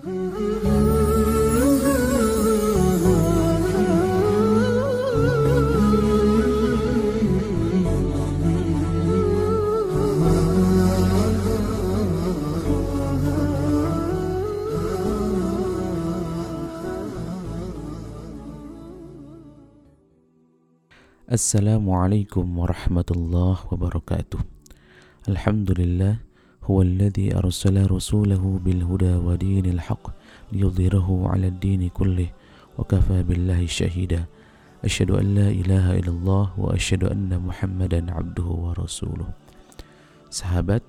Assalamualaikum warahmatullahi wabarakatuh. Alhamdulillah huwallazi arsala rasulahu bil huda wa dinil haqq liyudhhirahu 'alad dini kullih wa kafa billahi syahida. Asyhadu an la ilaha illallah wa asyhadu anna Muhammadan 'abduhu wa rasuluh. Sahabat,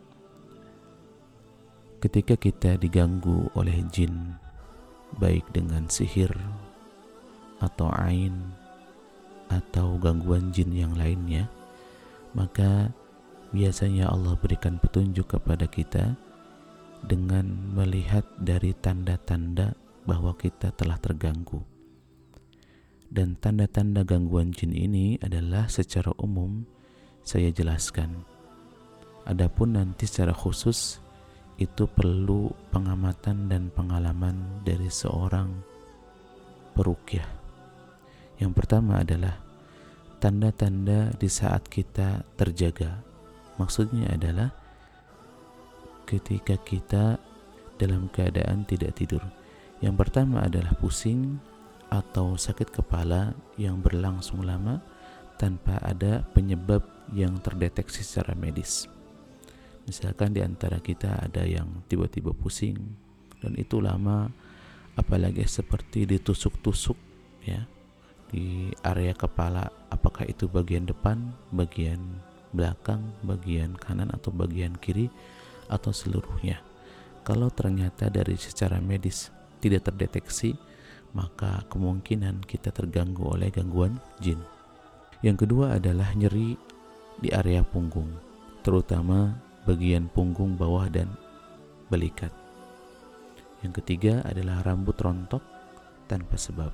ketika kita diganggu oleh jin, baik dengan sihir atau ain atau gangguan jin yang lainnya, maka biasanya Allah berikan petunjuk kepada kita dengan melihat dari tanda-tanda bahwa kita telah terganggu. Dan tanda-tanda gangguan jin ini adalah secara umum saya jelaskan. Adapun nanti secara khusus itu perlu pengamatan dan pengalaman dari seorang peruqyah. Yang pertama adalah tanda-tanda di saat kita terjaga. Maksudnya adalah ketika kita dalam keadaan tidak tidur. Yang pertama adalah pusing atau sakit kepala yang berlangsung lama tanpa ada penyebab yang terdeteksi secara medis. Misalkan di antara kita ada yang tiba-tiba pusing dan itu lama, apalagi seperti ditusuk-tusuk ya di area kepala, apakah itu bagian depan, bagian belakang, bagian kanan atau bagian kiri atau seluruhnya. Kalau ternyata dari secara medis tidak terdeteksi, maka kemungkinan kita terganggu oleh gangguan jin. Yang kedua adalah nyeri di area punggung, terutama bagian punggung bawah dan belikat. Yang ketiga adalah rambut rontok tanpa sebab.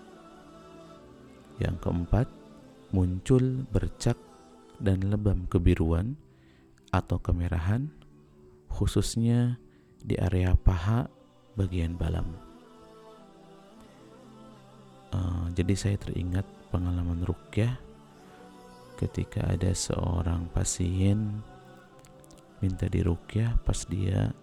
Yang keempat, muncul bercak dan lebam kebiruan atau kemerahan, khususnya di area paha bagian balam. Jadi saya teringat pengalaman ruqyah ketika ada seorang pasien minta diruqyah pas dia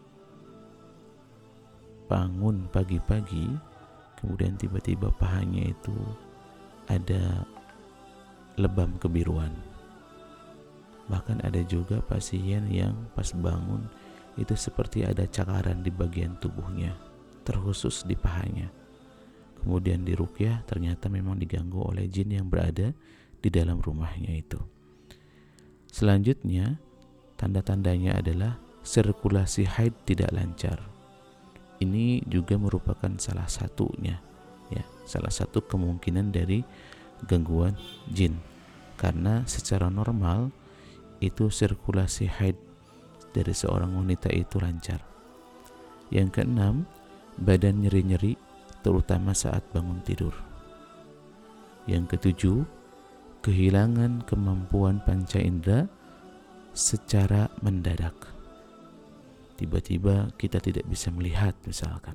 bangun pagi-pagi, kemudian tiba-tiba pahanya itu ada lebam kebiruan. Bahkan ada juga pasien yang pas bangun itu seperti ada cakaran di bagian tubuhnya, terkhusus di pahanya. Kemudian diruqyah, ternyata memang diganggu oleh jin yang berada di dalam rumahnya itu. Selanjutnya, tanda-tandanya adalah sirkulasi haid tidak lancar. Ini juga merupakan salah satunya, ya, salah satu kemungkinan dari gangguan jin, karena secara normal itu sirkulasi haid dari seorang wanita itu lancar. Yang keenam, badan nyeri-nyeri terutama saat bangun tidur. Yang ketujuh, kehilangan kemampuan panca indera secara mendadak. Tiba-tiba kita tidak bisa melihat misalkan,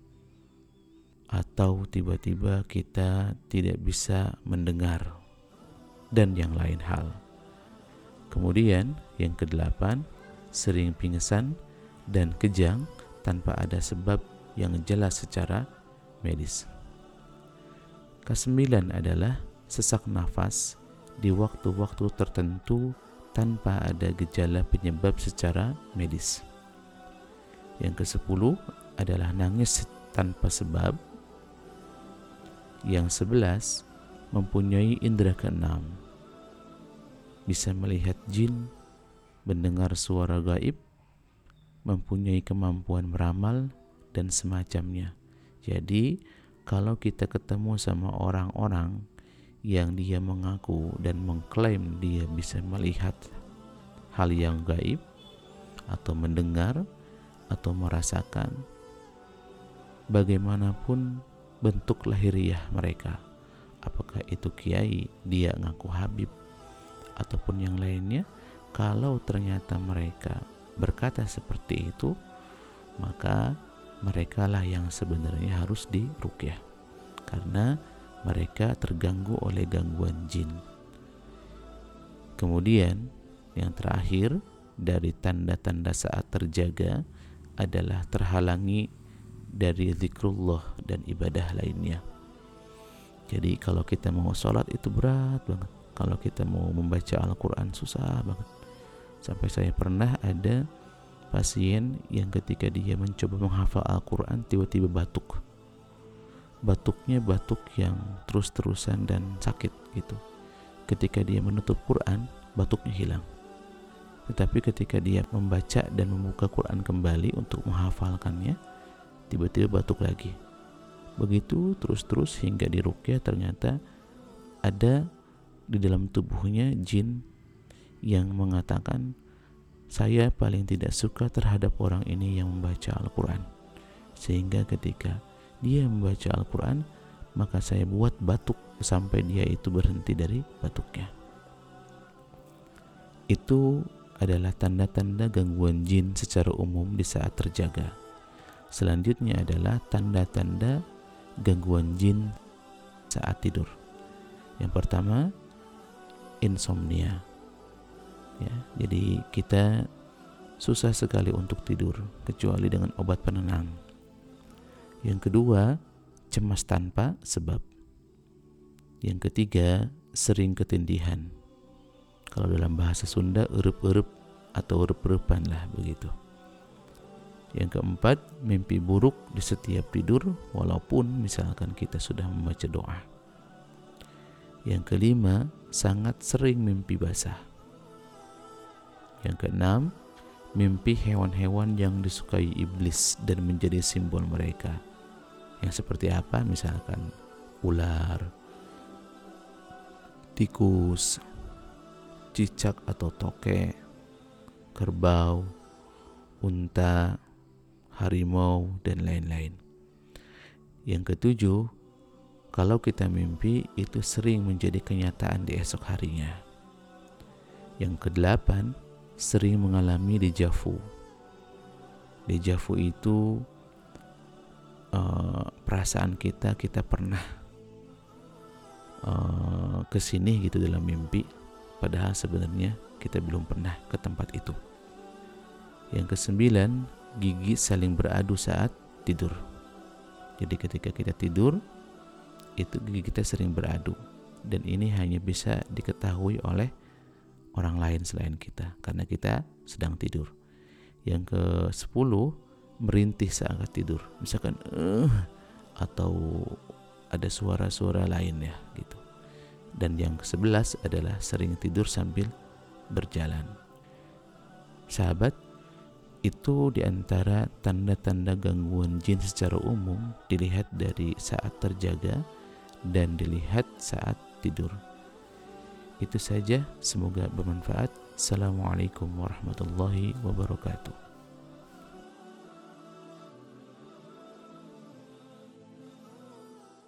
atau tiba-tiba kita tidak bisa mendengar, dan yang lain hal. Kemudian yang kedelapan, sering pingsan dan kejang tanpa ada sebab yang jelas secara medis. Kesembilan adalah sesak nafas di waktu-waktu tertentu tanpa ada gejala penyebab secara medis. Yang kesepuluh adalah nangis tanpa sebab. Yang 11, mempunyai indera keenam, bisa melihat jin, mendengar suara gaib, mempunyai kemampuan meramal, dan semacamnya. Jadi, kalau kita ketemu sama orang-orang yang dia mengaku dan mengklaim dia bisa melihat hal yang gaib, atau mendengar, atau merasakan, bagaimanapun bentuk lahiriah mereka, apakah itu kiai, dia ngaku habib, ataupun yang lainnya, kalau ternyata mereka berkata seperti itu, maka mereka lah yang sebenarnya harus diruqyah, karena mereka terganggu oleh gangguan jin. Kemudian yang terakhir dari tanda-tanda saat terjaga adalah terhalangi dari zikrullah dan ibadah lainnya. Jadi kalau kita mau sholat itu berat banget, kalau kita mau membaca Al-Quran susah banget. Sampai saya pernah ada pasien yang ketika dia mencoba menghafal Al-Quran tiba-tiba batuk. Batuknya batuk yang terus-terusan dan sakit gitu. Ketika dia menutup Quran, batuknya hilang. Tetapi ketika dia membaca dan membuka Quran kembali untuk menghafalkannya, tiba-tiba batuk lagi. Begitu terus-terus hingga diruqyah, ternyata ada di dalam tubuhnya jin yang mengatakan, saya paling tidak suka terhadap orang ini yang membaca Al-Quran. Sehingga ketika dia membaca Al-Quran, maka saya buat batuk sampai dia itu berhenti dari batuknya. Itu adalah tanda-tanda gangguan jin secara umum di saat terjaga. Selanjutnya adalah tanda-tanda gangguan jin saat tidur. Yang pertama, insomnia. Ya, jadi kita susah sekali untuk tidur kecuali dengan obat penenang. Yang kedua, cemas tanpa sebab. Yang ketiga, sering ketindihan. Kalau dalam bahasa Sunda, erup-erup atau erup-erupan lah begitu. Yang keempat, mimpi buruk di setiap tidur walaupun misalkan kita sudah membaca doa. Yang kelima, sangat sering mimpi basah. Yang keenam, mimpi hewan-hewan yang disukai iblis dan menjadi simbol mereka. Yang seperti apa? Misalkan ular, tikus, cicak atau tokek, kerbau, unta, harimau, dan lain-lain. Yang ketujuh, kalau kita mimpi itu sering menjadi kenyataan di esok harinya. Yang kedelapan, sering mengalami déjà vu. Déjà vu itu perasaan kita pernah kesini gitu dalam mimpi, padahal sebenarnya kita belum pernah ke tempat itu. Yang kesembilan, gigi saling beradu saat tidur. Jadi ketika kita tidur, itu gigi kita sering beradu, dan ini hanya bisa diketahui oleh orang lain selain kita karena kita sedang tidur. Yang ke-10, merintih saat tidur, misalkan atau ada suara-suara lain ya gitu. Dan yang ke-11 adalah sering tidur sambil berjalan. Sahabat, itu diantara tanda-tanda gangguan jin secara umum dilihat dari saat terjaga dan dilihat saat tidur. Itu saja, semoga bermanfaat. Assalamualaikum warahmatullahi wabarakatuh.